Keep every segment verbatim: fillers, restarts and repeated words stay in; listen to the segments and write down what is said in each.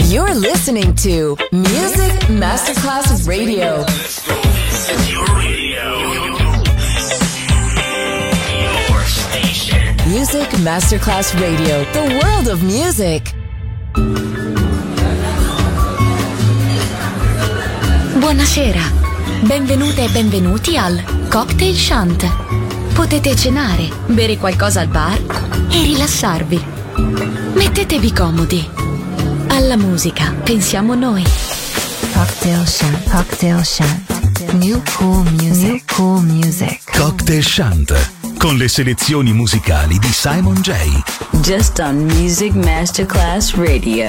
You're listening to Music Masterclass Radio. Your radio. Your station. Music Masterclass Radio. The world of music. Buonasera. Benvenute e benvenuti al Cocktail Shant. Potete cenare, bere qualcosa al bar e rilassarvi. Mettetevi comodi. Alla musica pensiamo noi. Cocktail Shant. Cocktail Shant. New cool music. New cool music. Cocktail Shant. Con le selezioni musicali di Simon J. Just on Music Masterclass Radio.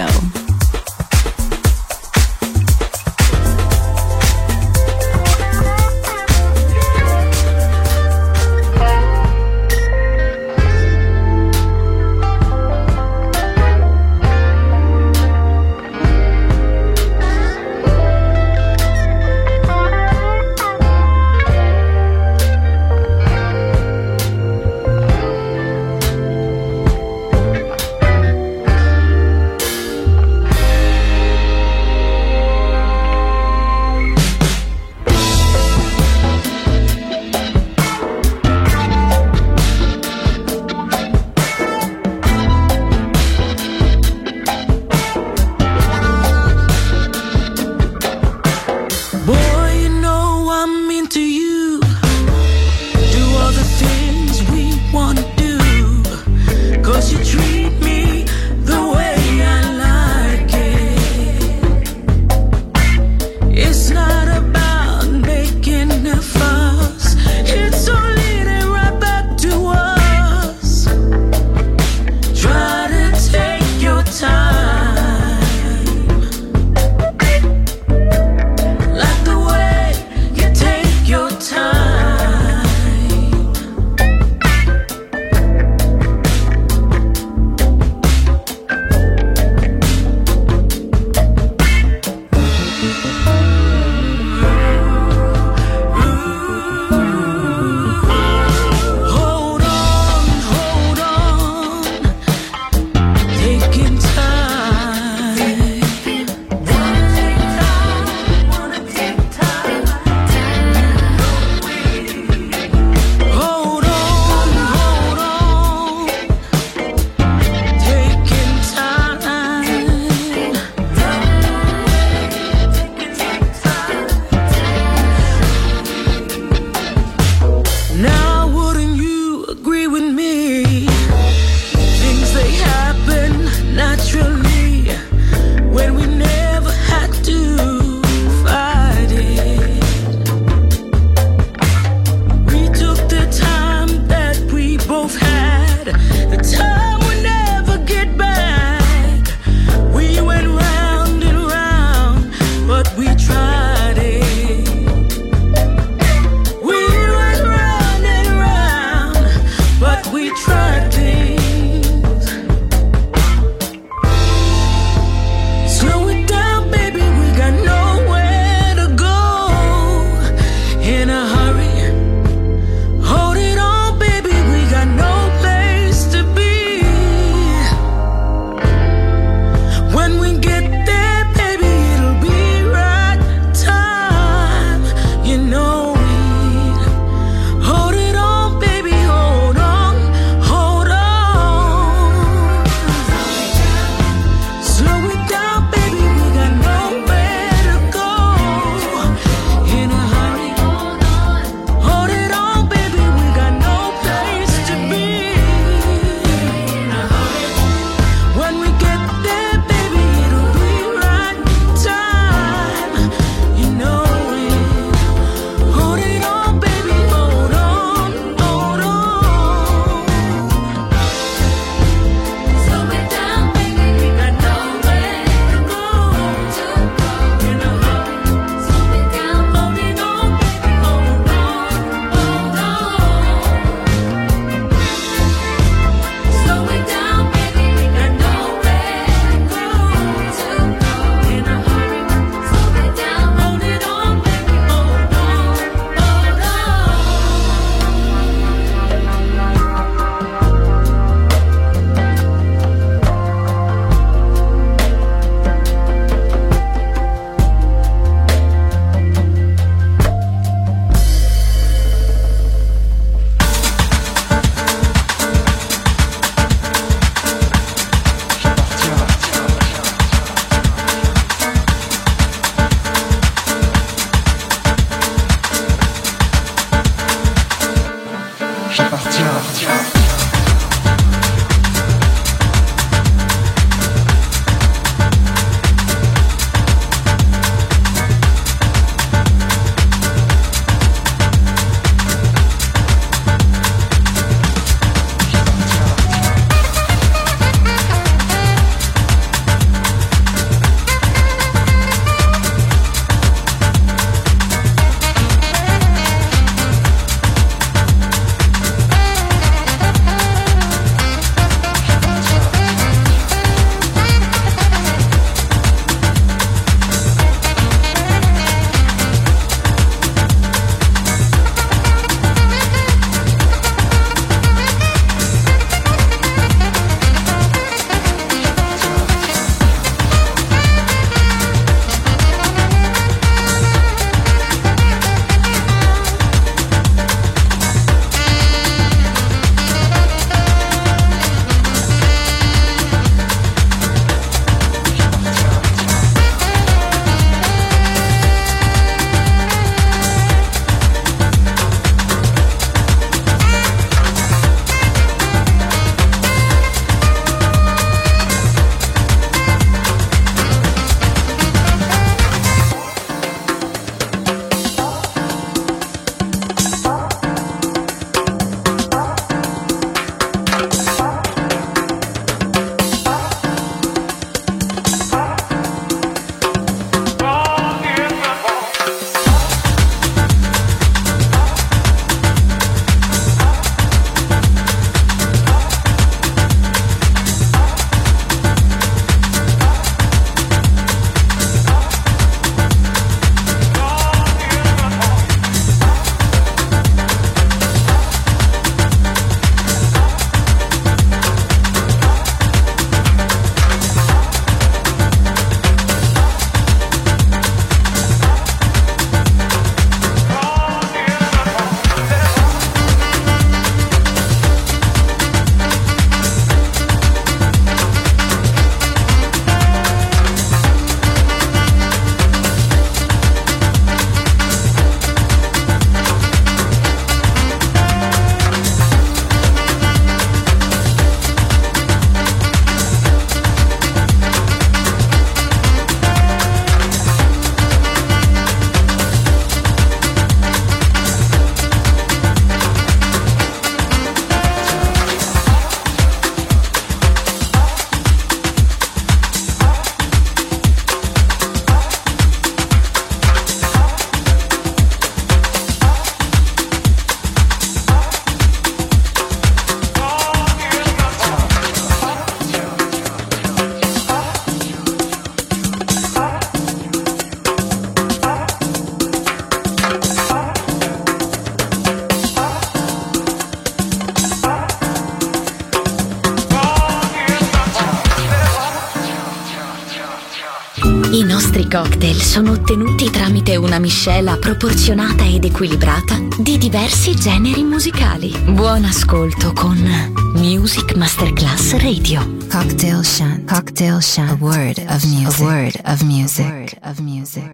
I nostri cocktail sono ottenuti tramite una miscela proporzionata ed equilibrata di diversi generi musicali. Buon ascolto con Music Masterclass Radio. Cocktail Shant. Cocktail Shant. A word of music. A word of music. A word of music.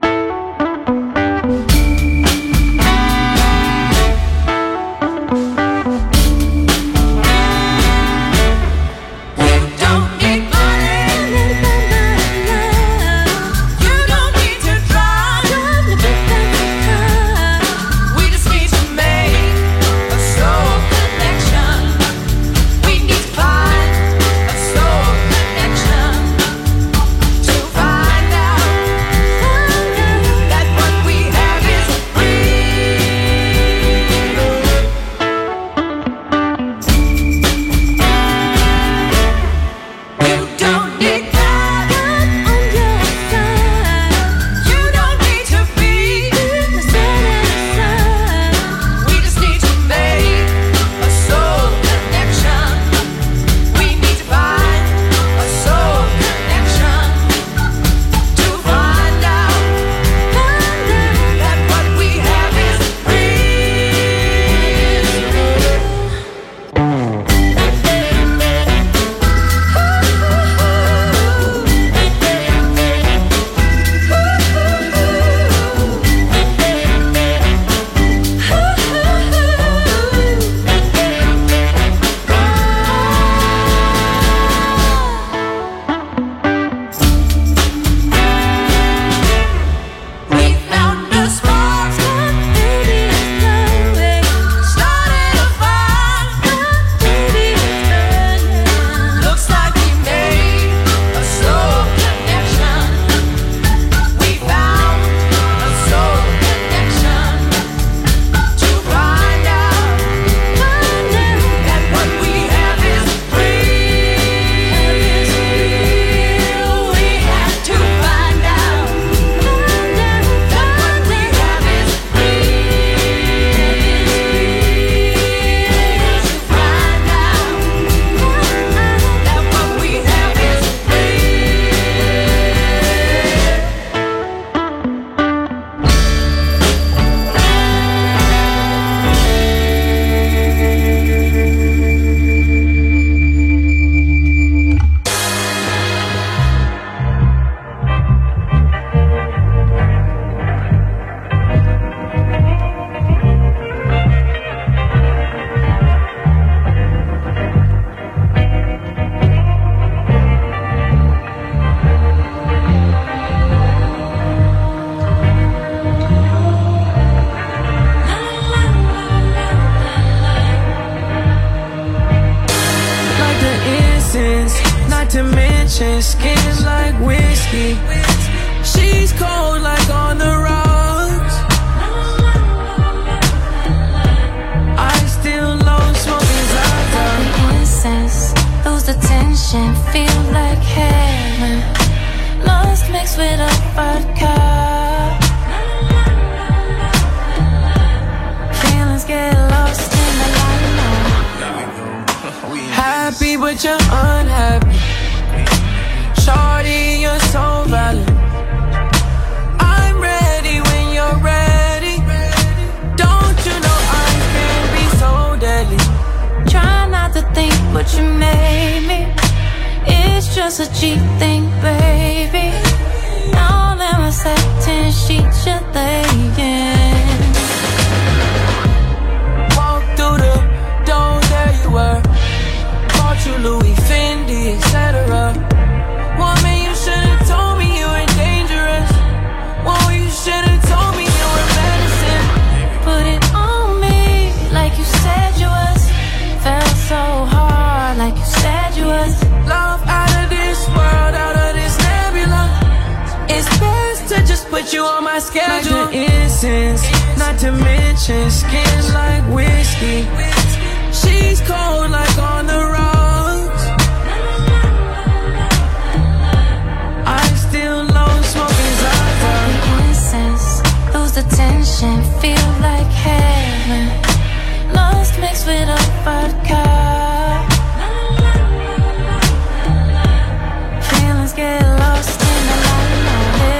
Feelings get lost in the light.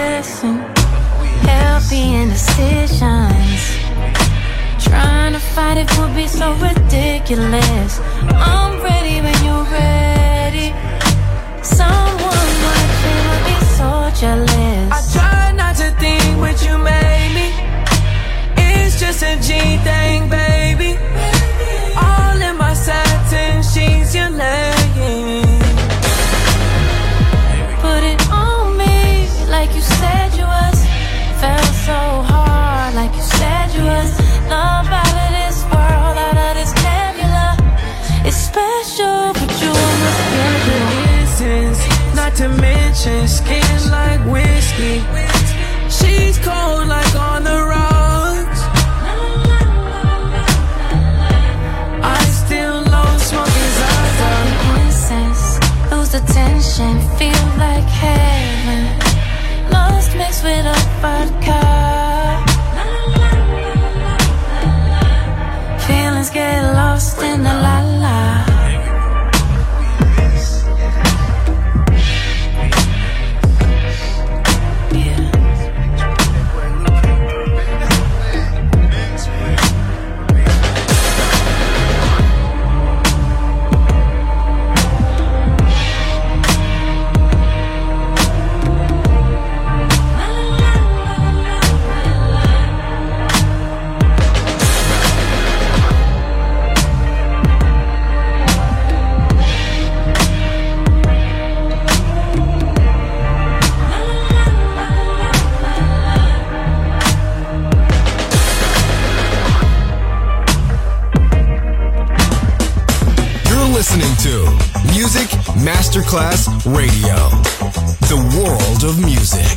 ridiculous. I'm ready when you're ready. Someone watching would be so jealous. I try not to think what you made me. It's just a G thing, baby. All in my satin sheets you're laying. Put it on me like you said you was. Felt so hard like you said you was. Love out of this world, out of this nebula. It's special, but you almost feel the distance. Not to mention skin like whiskey. She's cold like on the rocks. I still love smoking Zaza. Incense, lose the tension, feel like heaven. Lost mixed with a vodka. Feelings get lost in the la la. Listening to Music Masterclass Radio, the world of music.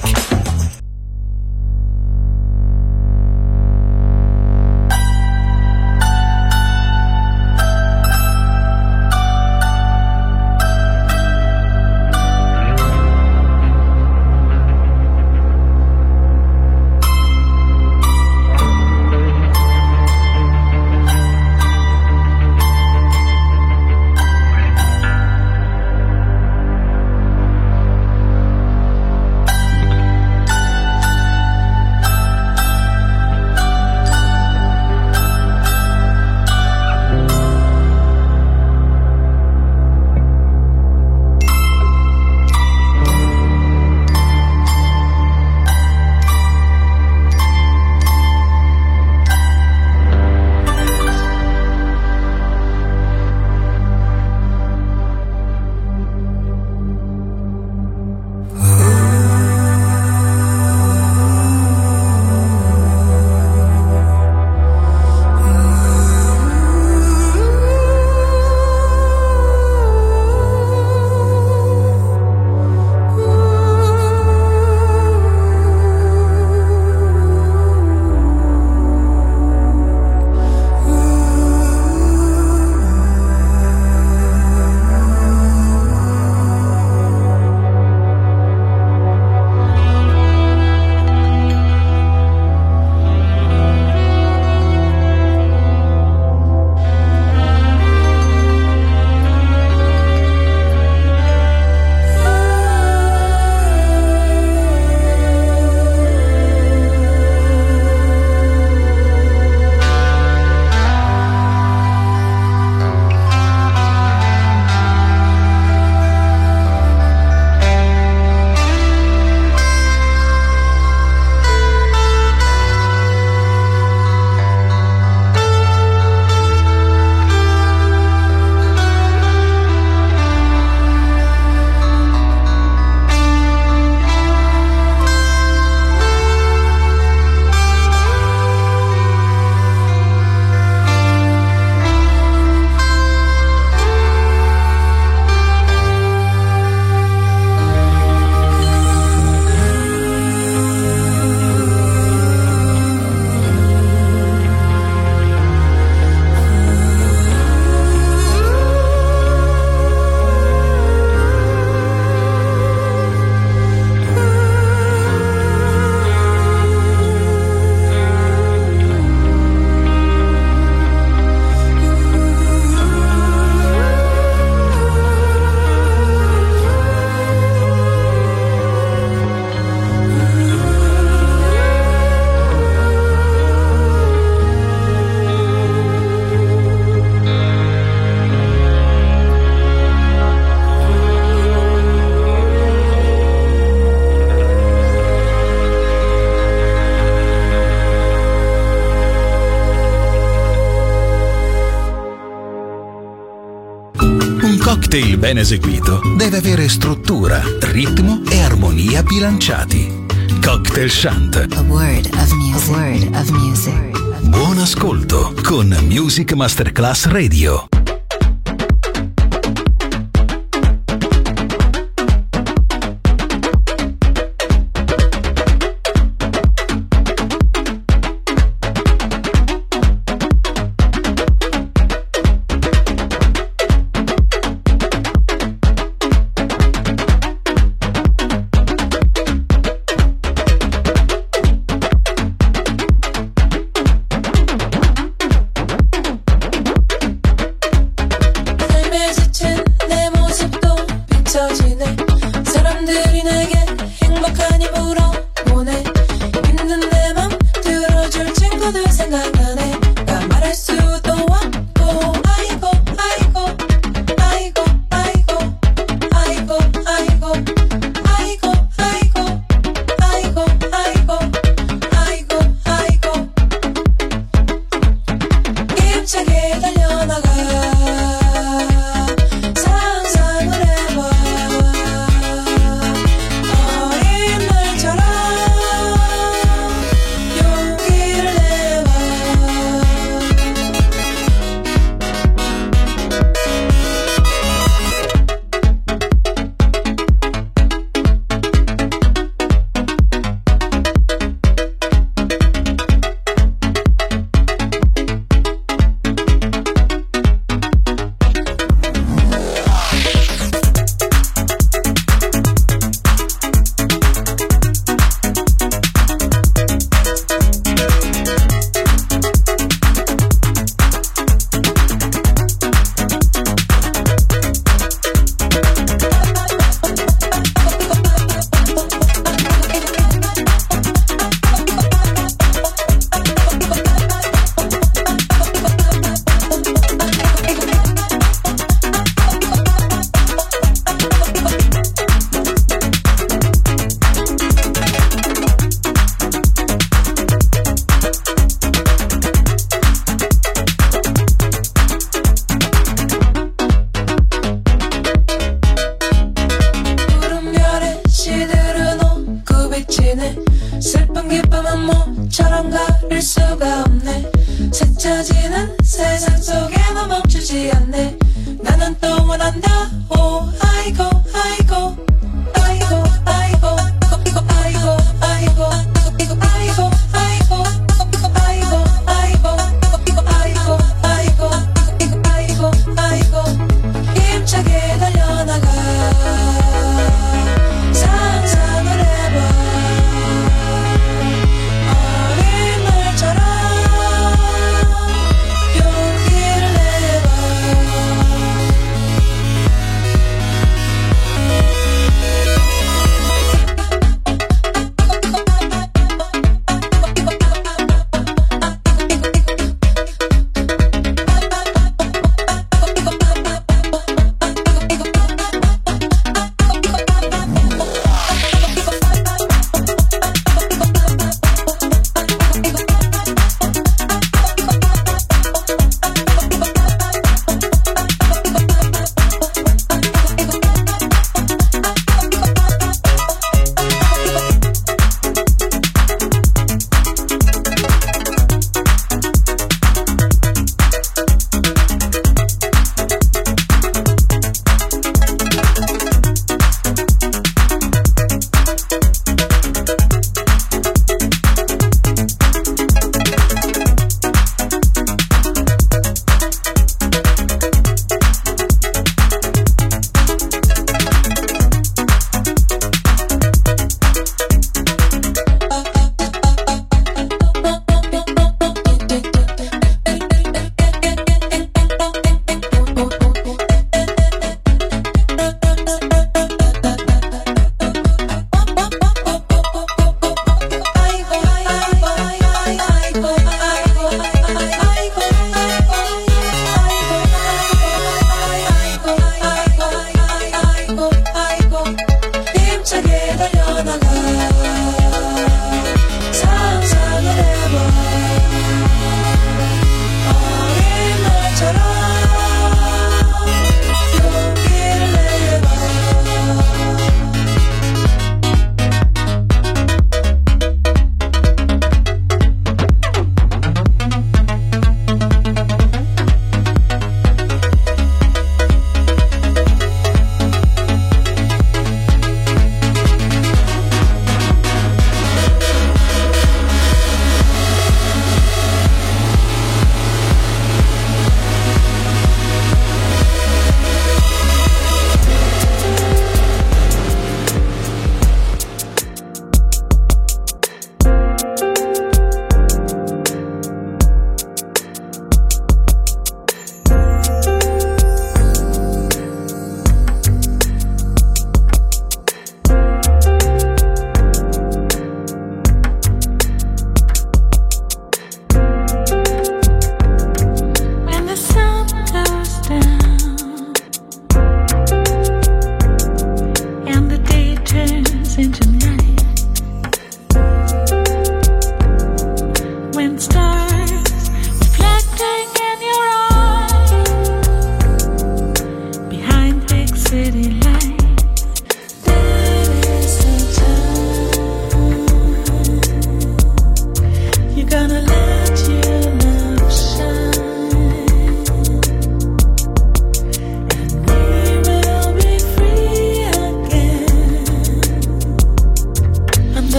cocktail ben eseguito deve avere struttura, ritmo e armonia bilanciati. Cocktail Chant. A word of music. A word of music. Buon ascolto con Music Masterclass Radio.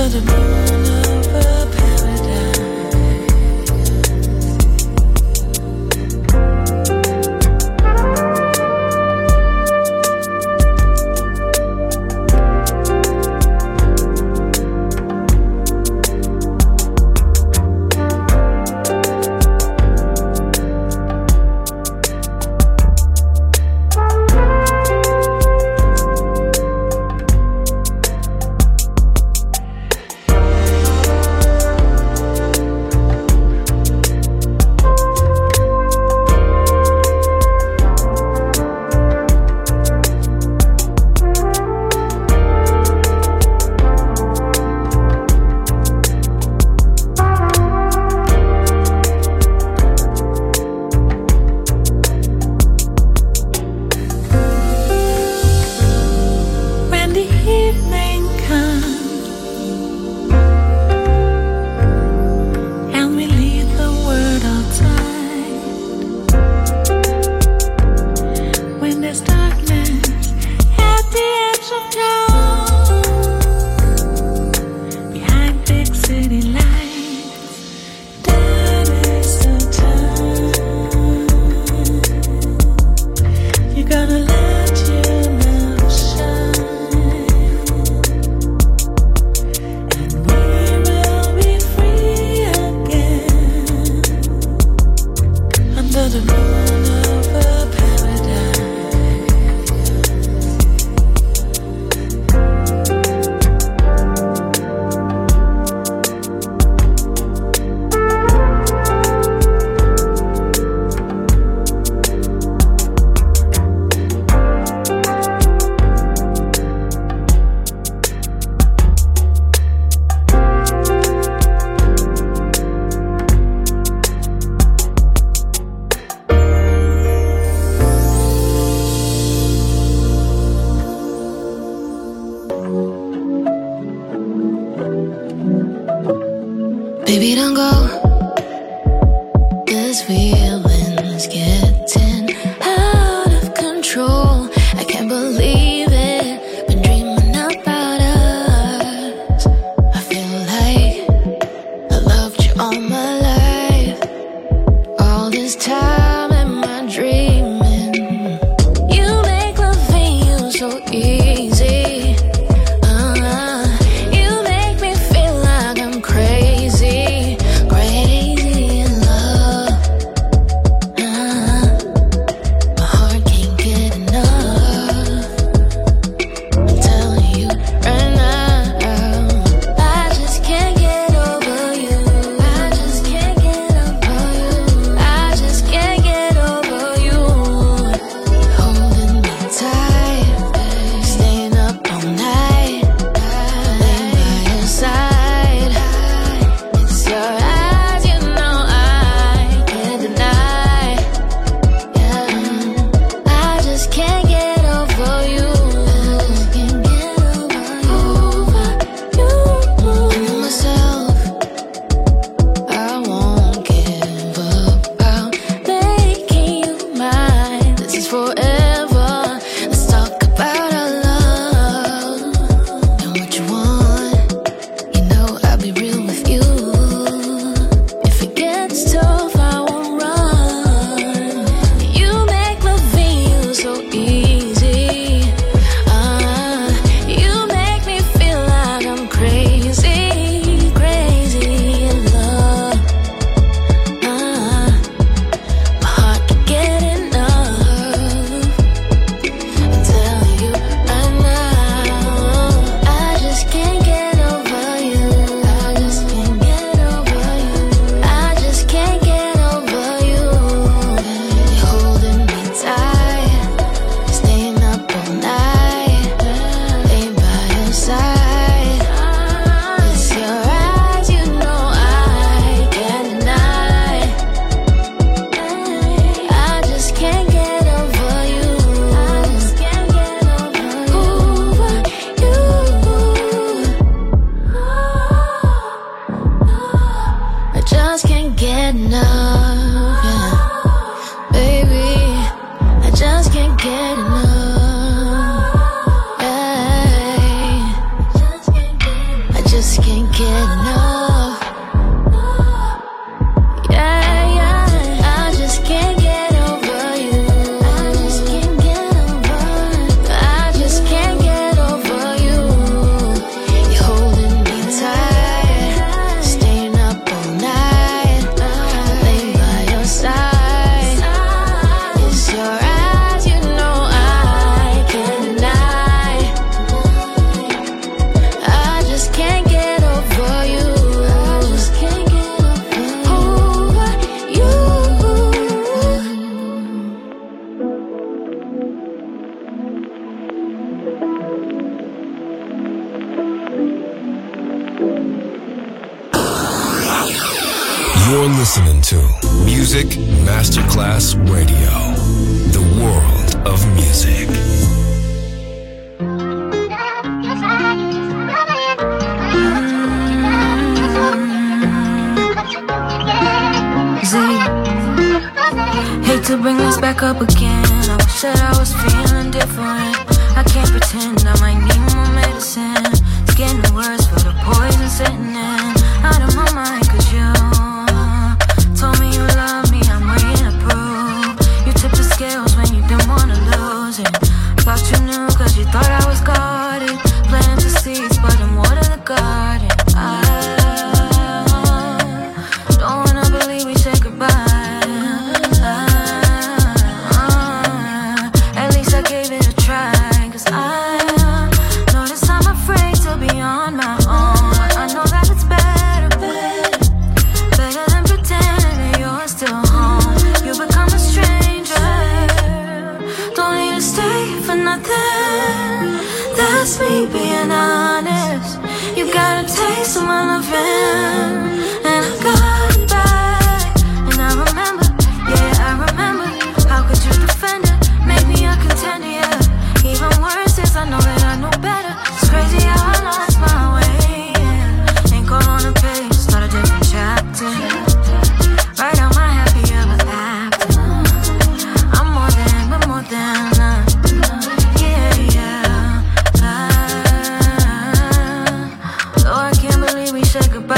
Baby, don't go. This feeling's getting out of control. I can't believe it. Been dreaming about us. I feel like I loved you all my life. All this time am I dreaming? You make loving you so easy. Crazy, crazy in love. Ah. just can't get enough. Yeah, yeah, I just can't get over you. I just can't get over. I just can't get over you. You're holding me tight, staying up all night, laying by your side. It's your eyes, you know I can't deny. I just can't get over you. I just can't get over you. You're listening to Music Masterclass Radio, the world of music. Z, hate to bring this back up again. I wish that I was feeling different. I can't pretend, I might need more medicine. It's getting worse for the poison sitting in. Out of my mind, cause you told me you love me, I'm waiting to prove. You tipped the scales when you didn't wanna lose it. Thought you knew cause you thought I was guarded. Planting seeds, but I'm water the garden. I don't wanna believe we said goodbye. At least I gave it a try, cause I know this I'm afraid to be on my own. I know that it's better, better, better than pretending that you're still home. You become a stranger, don't need to stay for nothing. That's me being honest. You got a taste of my loving, and I got it back. And I remember, yeah, I remember. How could you defend it? Make me a contender, yeah. Even worse is I know that I know better. It's crazy how I lost my way, yeah. Ain't call on a page, start a different chapter. Write out my happy ever after. I'm more than, but more than uh, yeah, yeah. Ah, though I can't believe we said goodbye.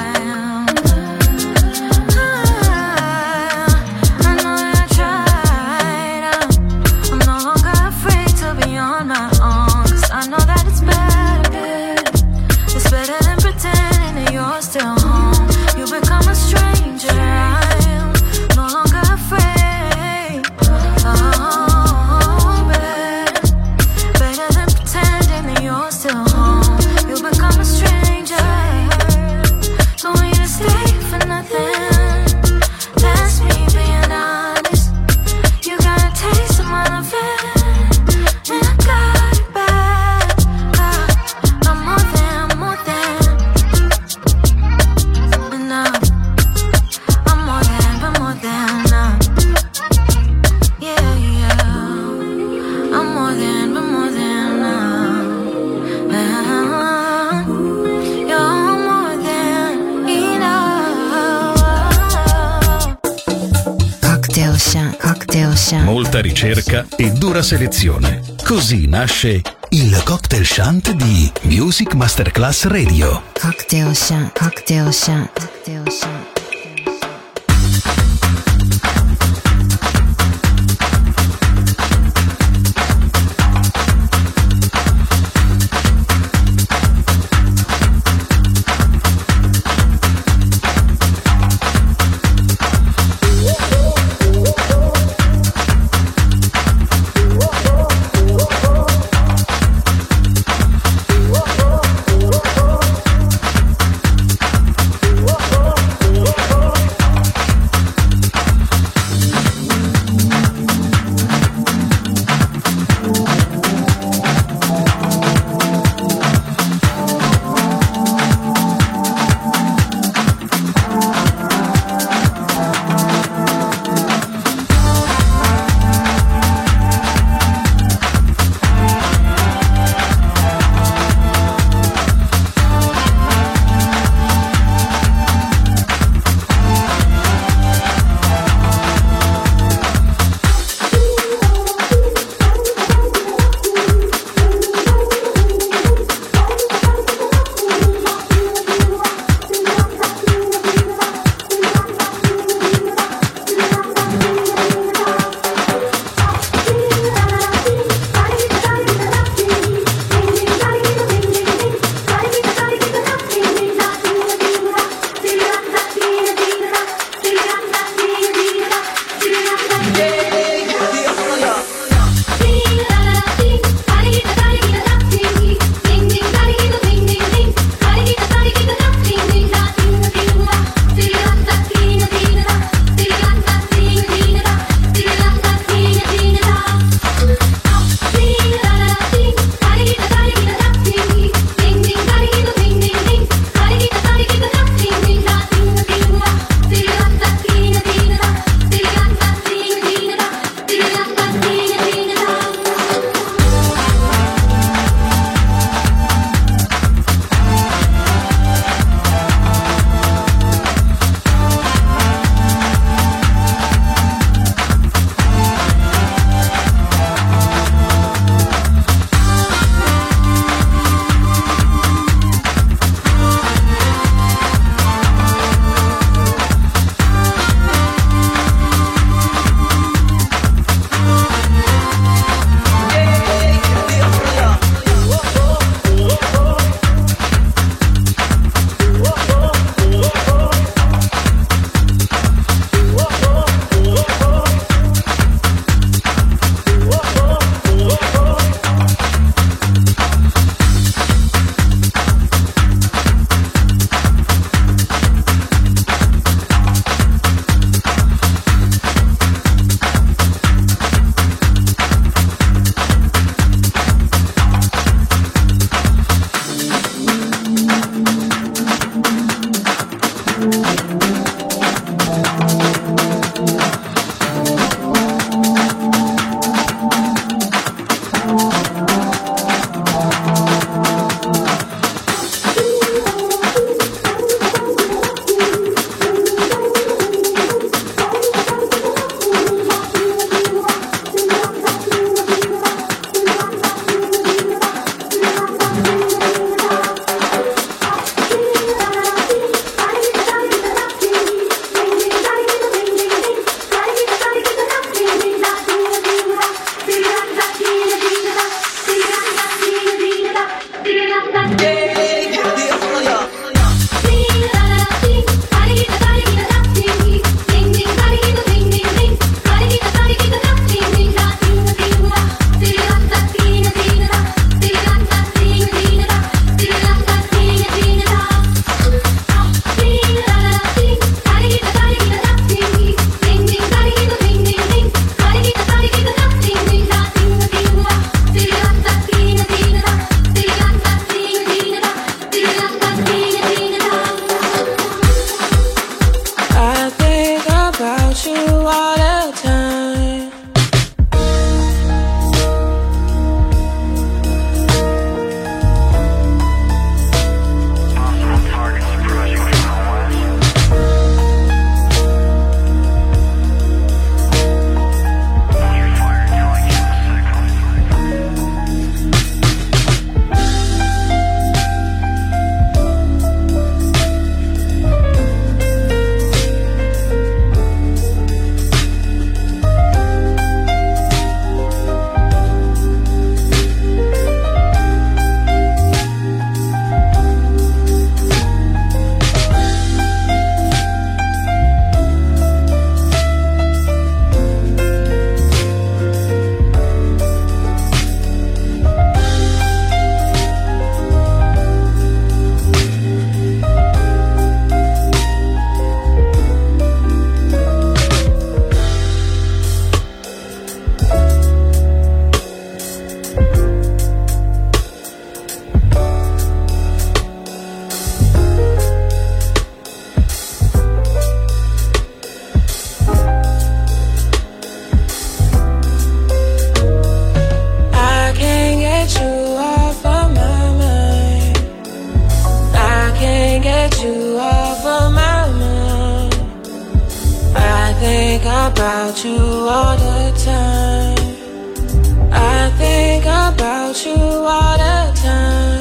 Molta ricerca e dura selezione. Così nasce il Cocktail Shant di Music Masterclass Radio. Cocktail Shant, Cocktail Shant, Cocktail Shant. Whoa. you off of my mind. I think about you all the time. I think about you all the time.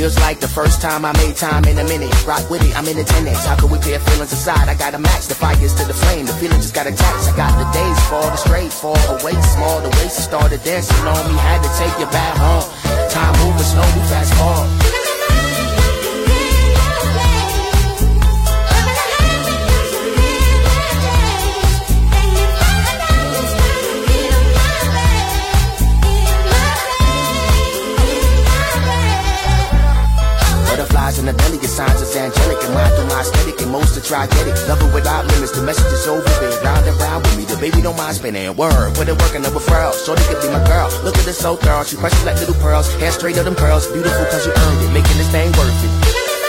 Feels like the first time I made time in a minute. Rock with it, I'm in attendance. How could we pair feelings aside? I gotta match the fires to the flame. The feeling just got attached. I got the days fall, the straight fall away small. The waist started dancing on me. Had to take you back home. Time moving slow, we fast forward. Butterflies in the belly, your signs is angelic. And mine through my aesthetic, and most to try get it. Love it without limits, the message is over there. Round and round with me, the baby don't mind spinning. Word, put it working over furls. Shorty could be my girl, look at this so thorough. She precious like little pearls, hair straight of them pearls. Beautiful cause you earned it, making this thing worth it.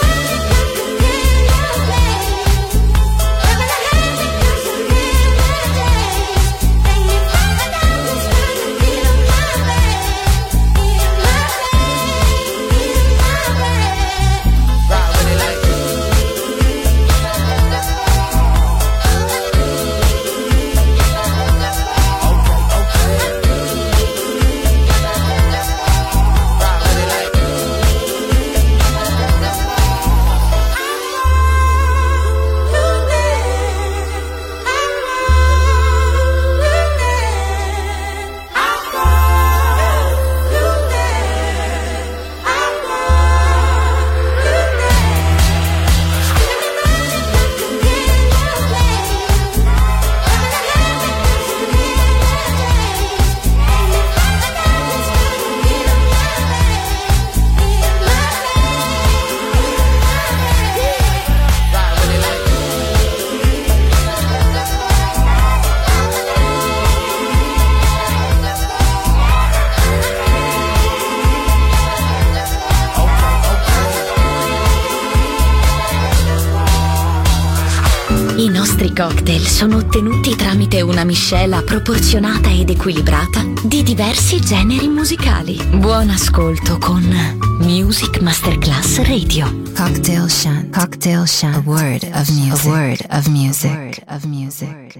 I nostri cocktail sono ottenuti tramite una miscela proporzionata ed equilibrata di diversi generi musicali. Buon ascolto con Music Masterclass Radio. Cocktail Shant. Cocktail Shant. A word of music. A word of music. A word of music.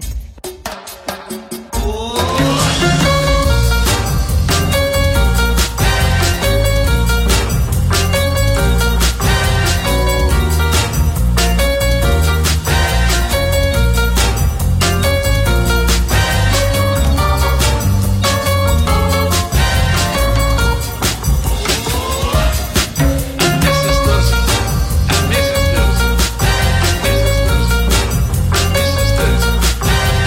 This is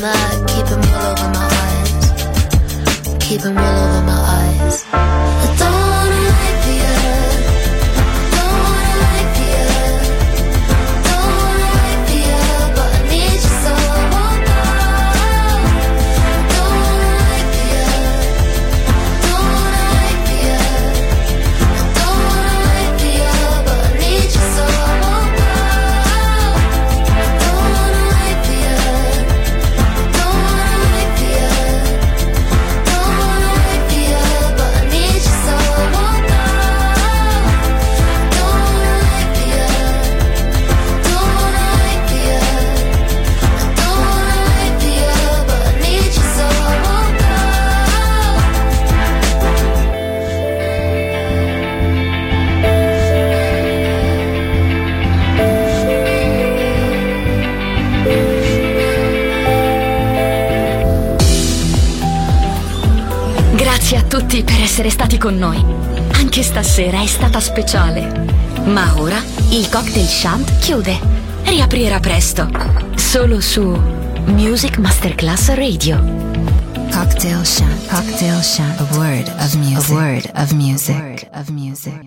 that, keeping me all over my eyes, keeping me all over my eyes. I don't wanna wait for you, don't wanna wait for you, don't wanna wait for you, but I need you so I won't go. Don't wanna wait for you, don't wanna wait for you, don't wanna wait for you, but I need you so I won't go. Don't wanna wait for you, don't wanna wait for you, don't wanna wait for you, but I need you so I won't go. Don't wanna wait for you, don't wanna wait for you, don't wanna wait for you, but I need you so I won't go. Grazie a tutti per essere stati con noi. Anche stasera è stata speciale. Ma ora il Cocktail Shant chiude. Riaprirà presto. Solo su Music Masterclass Radio. Cocktail Shant. Cocktail Shant. A word of music. A word of music. A word of music.